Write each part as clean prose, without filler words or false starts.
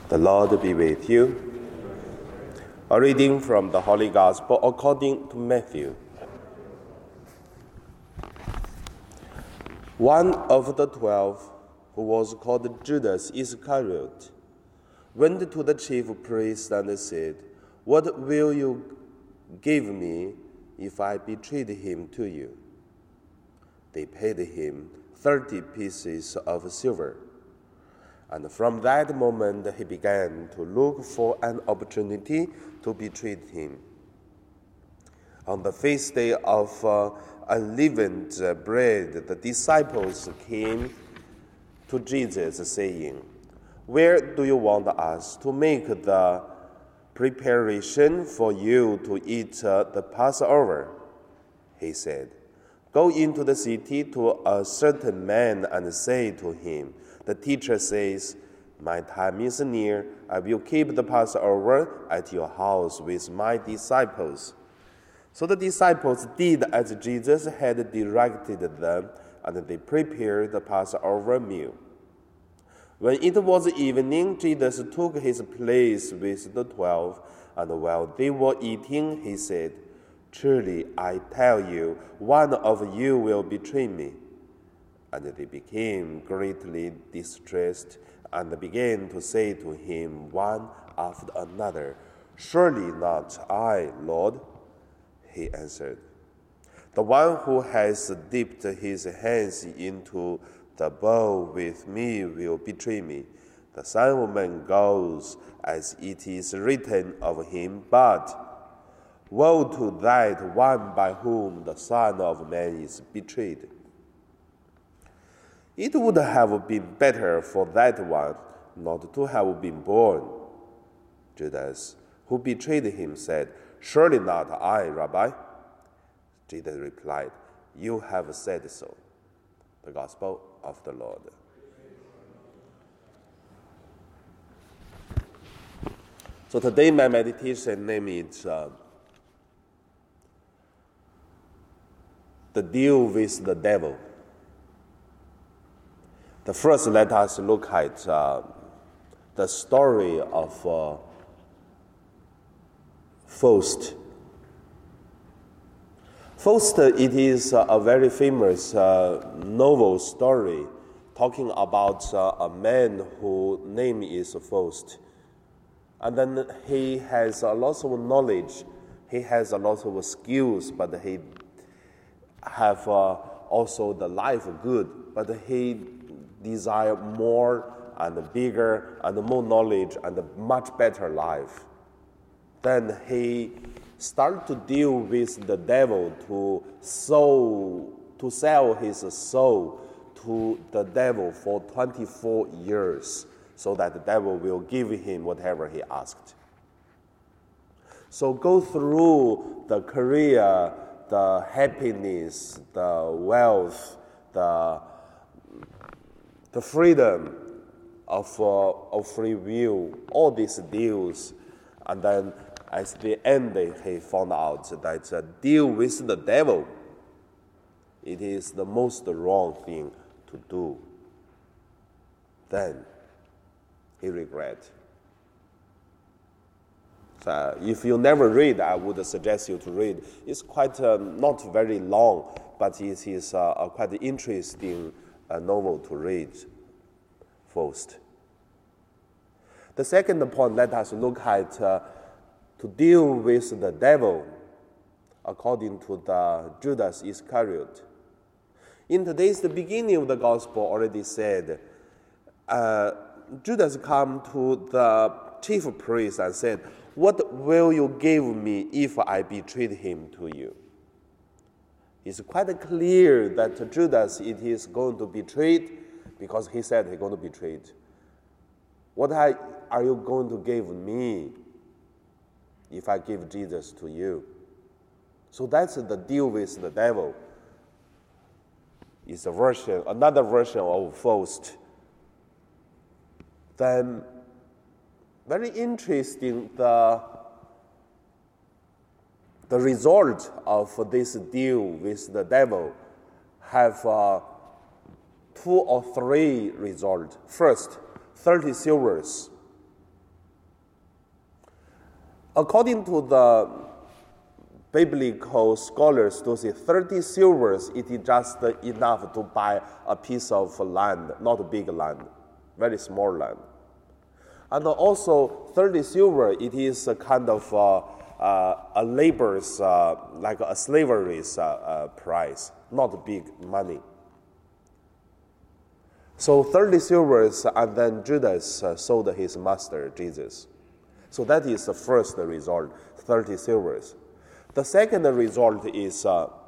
The Lord be with you. A reading from the Holy Gospel according to Matthew. One of the 12, who was called Judas Iscariot, went to the chief priests and said, "What will you give me if I betrayed him to you?" They paid him 30 pieces of silver. And from that moment he began to look for an opportunity to betray him. On the feast day of unleavened bread, the disciples came to Jesus saying, "Where do you want us to make the preparation for you to eat the Passover?" He said, "Go into the city to a certain man and say to him, 'The teacher says, my time is near. I will keep the Passover at your house with my disciples.'" So the disciples did as Jesus had directed them, and they prepared the Passover meal. When it was evening, Jesus took his place with the 12, and while they were eating, he said, "Truly, I tell you, one of you will betray me." And they became greatly distressed and began to say to him one after another, "Surely not I, Lord." He answered, "The one who has dipped his hands into the bowl with me will betray me. The Son of Man goes as it is written of him, but woe to that one by whom the Son of Man is betrayed. It would have been better for that one not to have been born." Judas, who betrayed him, said, "Surely not I, Rabbi." Jesus replied, "You have said so." The Gospel of the Lord. So today my meditation name is The Deal with the Devil. The first, let us look at the story of Faust. Faust, it is a very famous novel story talking about a man whose name is Faust. And then he has a lot of knowledge, he has a lot of skills, but he have also the life good, but he desire more and bigger and more knowledge and a much better life. Then he started to deal with the devil to sell his soul to the devil for 24 years so that the devil will give him whatever he asked. So go through the career, the happiness, the wealth, the freedom of free will, all these deals, and then at the end he found out that a deal with the devil, it is the most wrong thing to do. Then he regret. So if you never read, I would suggest you to read. It's quite not very long, but it is a quite interesting novel to read. Faust. The second point, let us look at to deal with the devil according to the Judas Iscariot. In today's the beginning of the gospel already said, Judas come to the chief priest and said, "What will you give me if I betrayed him to you?" It's quite clear that Judas it is going to betray because he said he's going to betray it. What are you going to give me if I give Jesus to you? So that's the deal with the devil. It's another version of Faust. Then, very interesting, the result of this deal with the devil have 2 or 3 results. First, 30 silvers. According to the biblical scholars, to say 30 silvers, it is just enough to buy a piece of land, not a big land, very small land. And also 30 silver, it is a kind of a labor's, like a slavery's price, not big money. So 30 silvers, and then Judas sold his master, Jesus. So that is the first result, 30 silvers. The second result is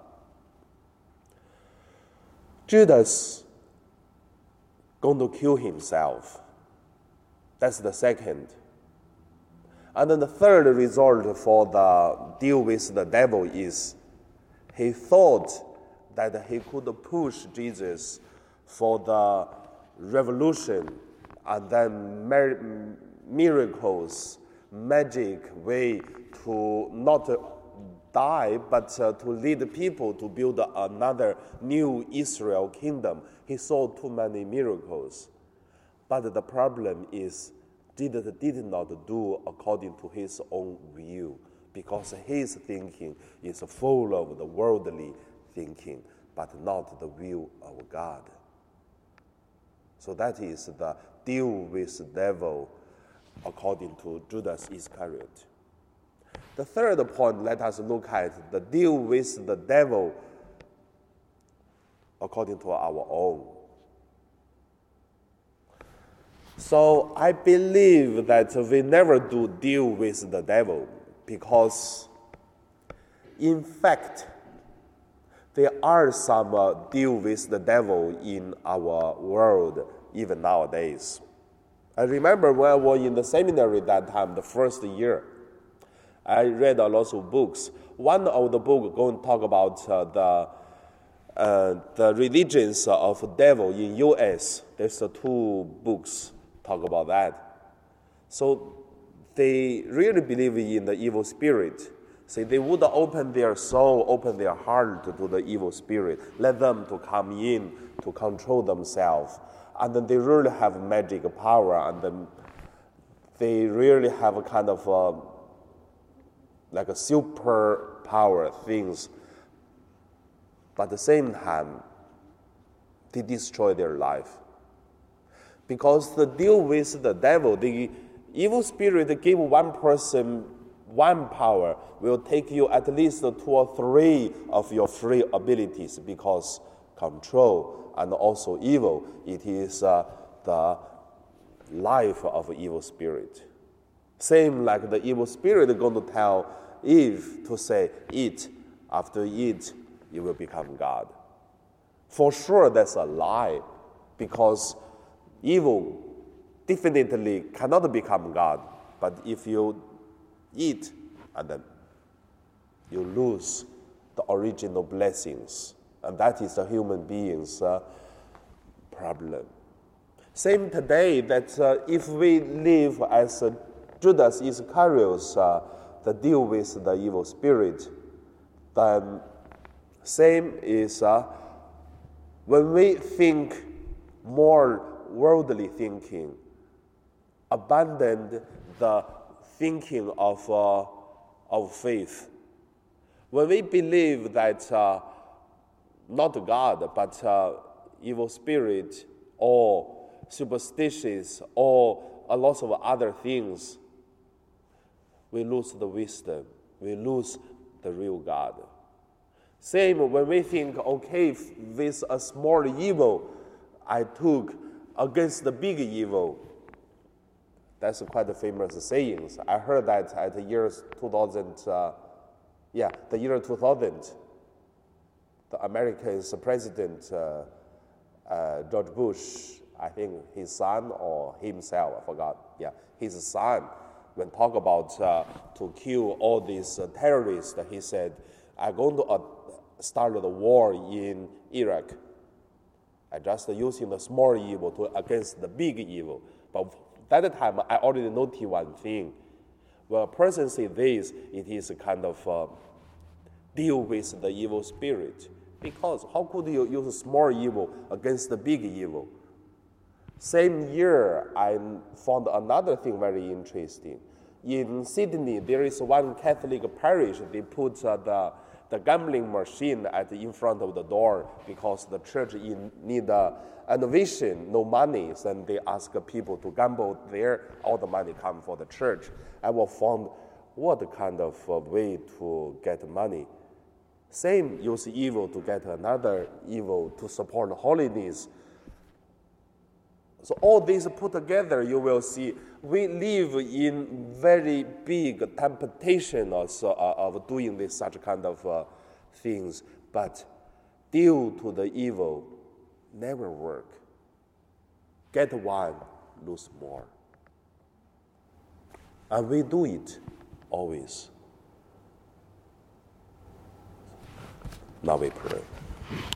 Judas going to kill himself. That's the second. And then the third result for the deal with the devil is he thought that he could push Jesus for the revolution and then miracles, magic way to not die, but to lead people to build another new Israel kingdom. He saw too many miracles. But the problem is, Jesus did not do according to his own view, because his thinking is full of the worldly thinking, but not the will of God. So that is the deal with the devil according to Judas Iscariot. The third point, let us look at the deal with the devil according to our own. So I believe that we never do deal with the devil because, in fact, there are some deal with the devil in our world even nowadays. I remember when I was in the seminary that time, the first year, I read a lot of books. One of the books going to talk about the religions of devil in U.S. There's two books talk about that. So they really believe in the evil spirit. So they would open their soul, open their heart to the evil spirit, let them to come in to control themselves. And then they really have magic power, and then they really have a kind of like a super power things. But at the same time, they destroy their life. Because the deal with the devil, the evil spirit give one person one power, will take you at least 2 or 3 of your free abilities, because control and also evil, it is the life of evil spirit. Same like the evil spirit going to tell Eve to say, eat. After you eat, you will become God. For sure, that's a lie, because evil definitely cannot become God. But if you eat, and then you lose the original blessings. And that is the human being's problem. Same today, that if we live as Judas Iscariot, the deal with the evil spirit, then same is when we think more worldly thinking, abandon the thinking of faith. When we believe that not God, but evil spirit or superstitious or a lot of other things, we lose the wisdom. We lose the real God. Same when we think, okay, with a small evil I took against the big evil. That's quite a famous saying. I heard that at the year 2000. The year 2000. The American President George Bush, I think his son or himself, I forgot. Yeah, his son, when talk about to kill all these terrorists, he said, "I'm going to start the war in Iraq. I just using the small evil against the big evil." But that time, I already noticed one thing. When a person says this, it is a kind of deal with the evil spirit. Because how could you use a small evil against the big evil? Same year, I found another thing very interesting. In Sydney, there is one Catholic parish. They put the gambling machine in front of the door because the church need innovation, no money. Then they ask people to gamble there. All the money come for the church. I will find what kind of way to get money. Same, use evil to get another evil to support holiness. So all these put together, you will see we live in very big temptation of doing such kind of things, but due to the evil, never work. Get one, lose more. And we do it always. Now we pray.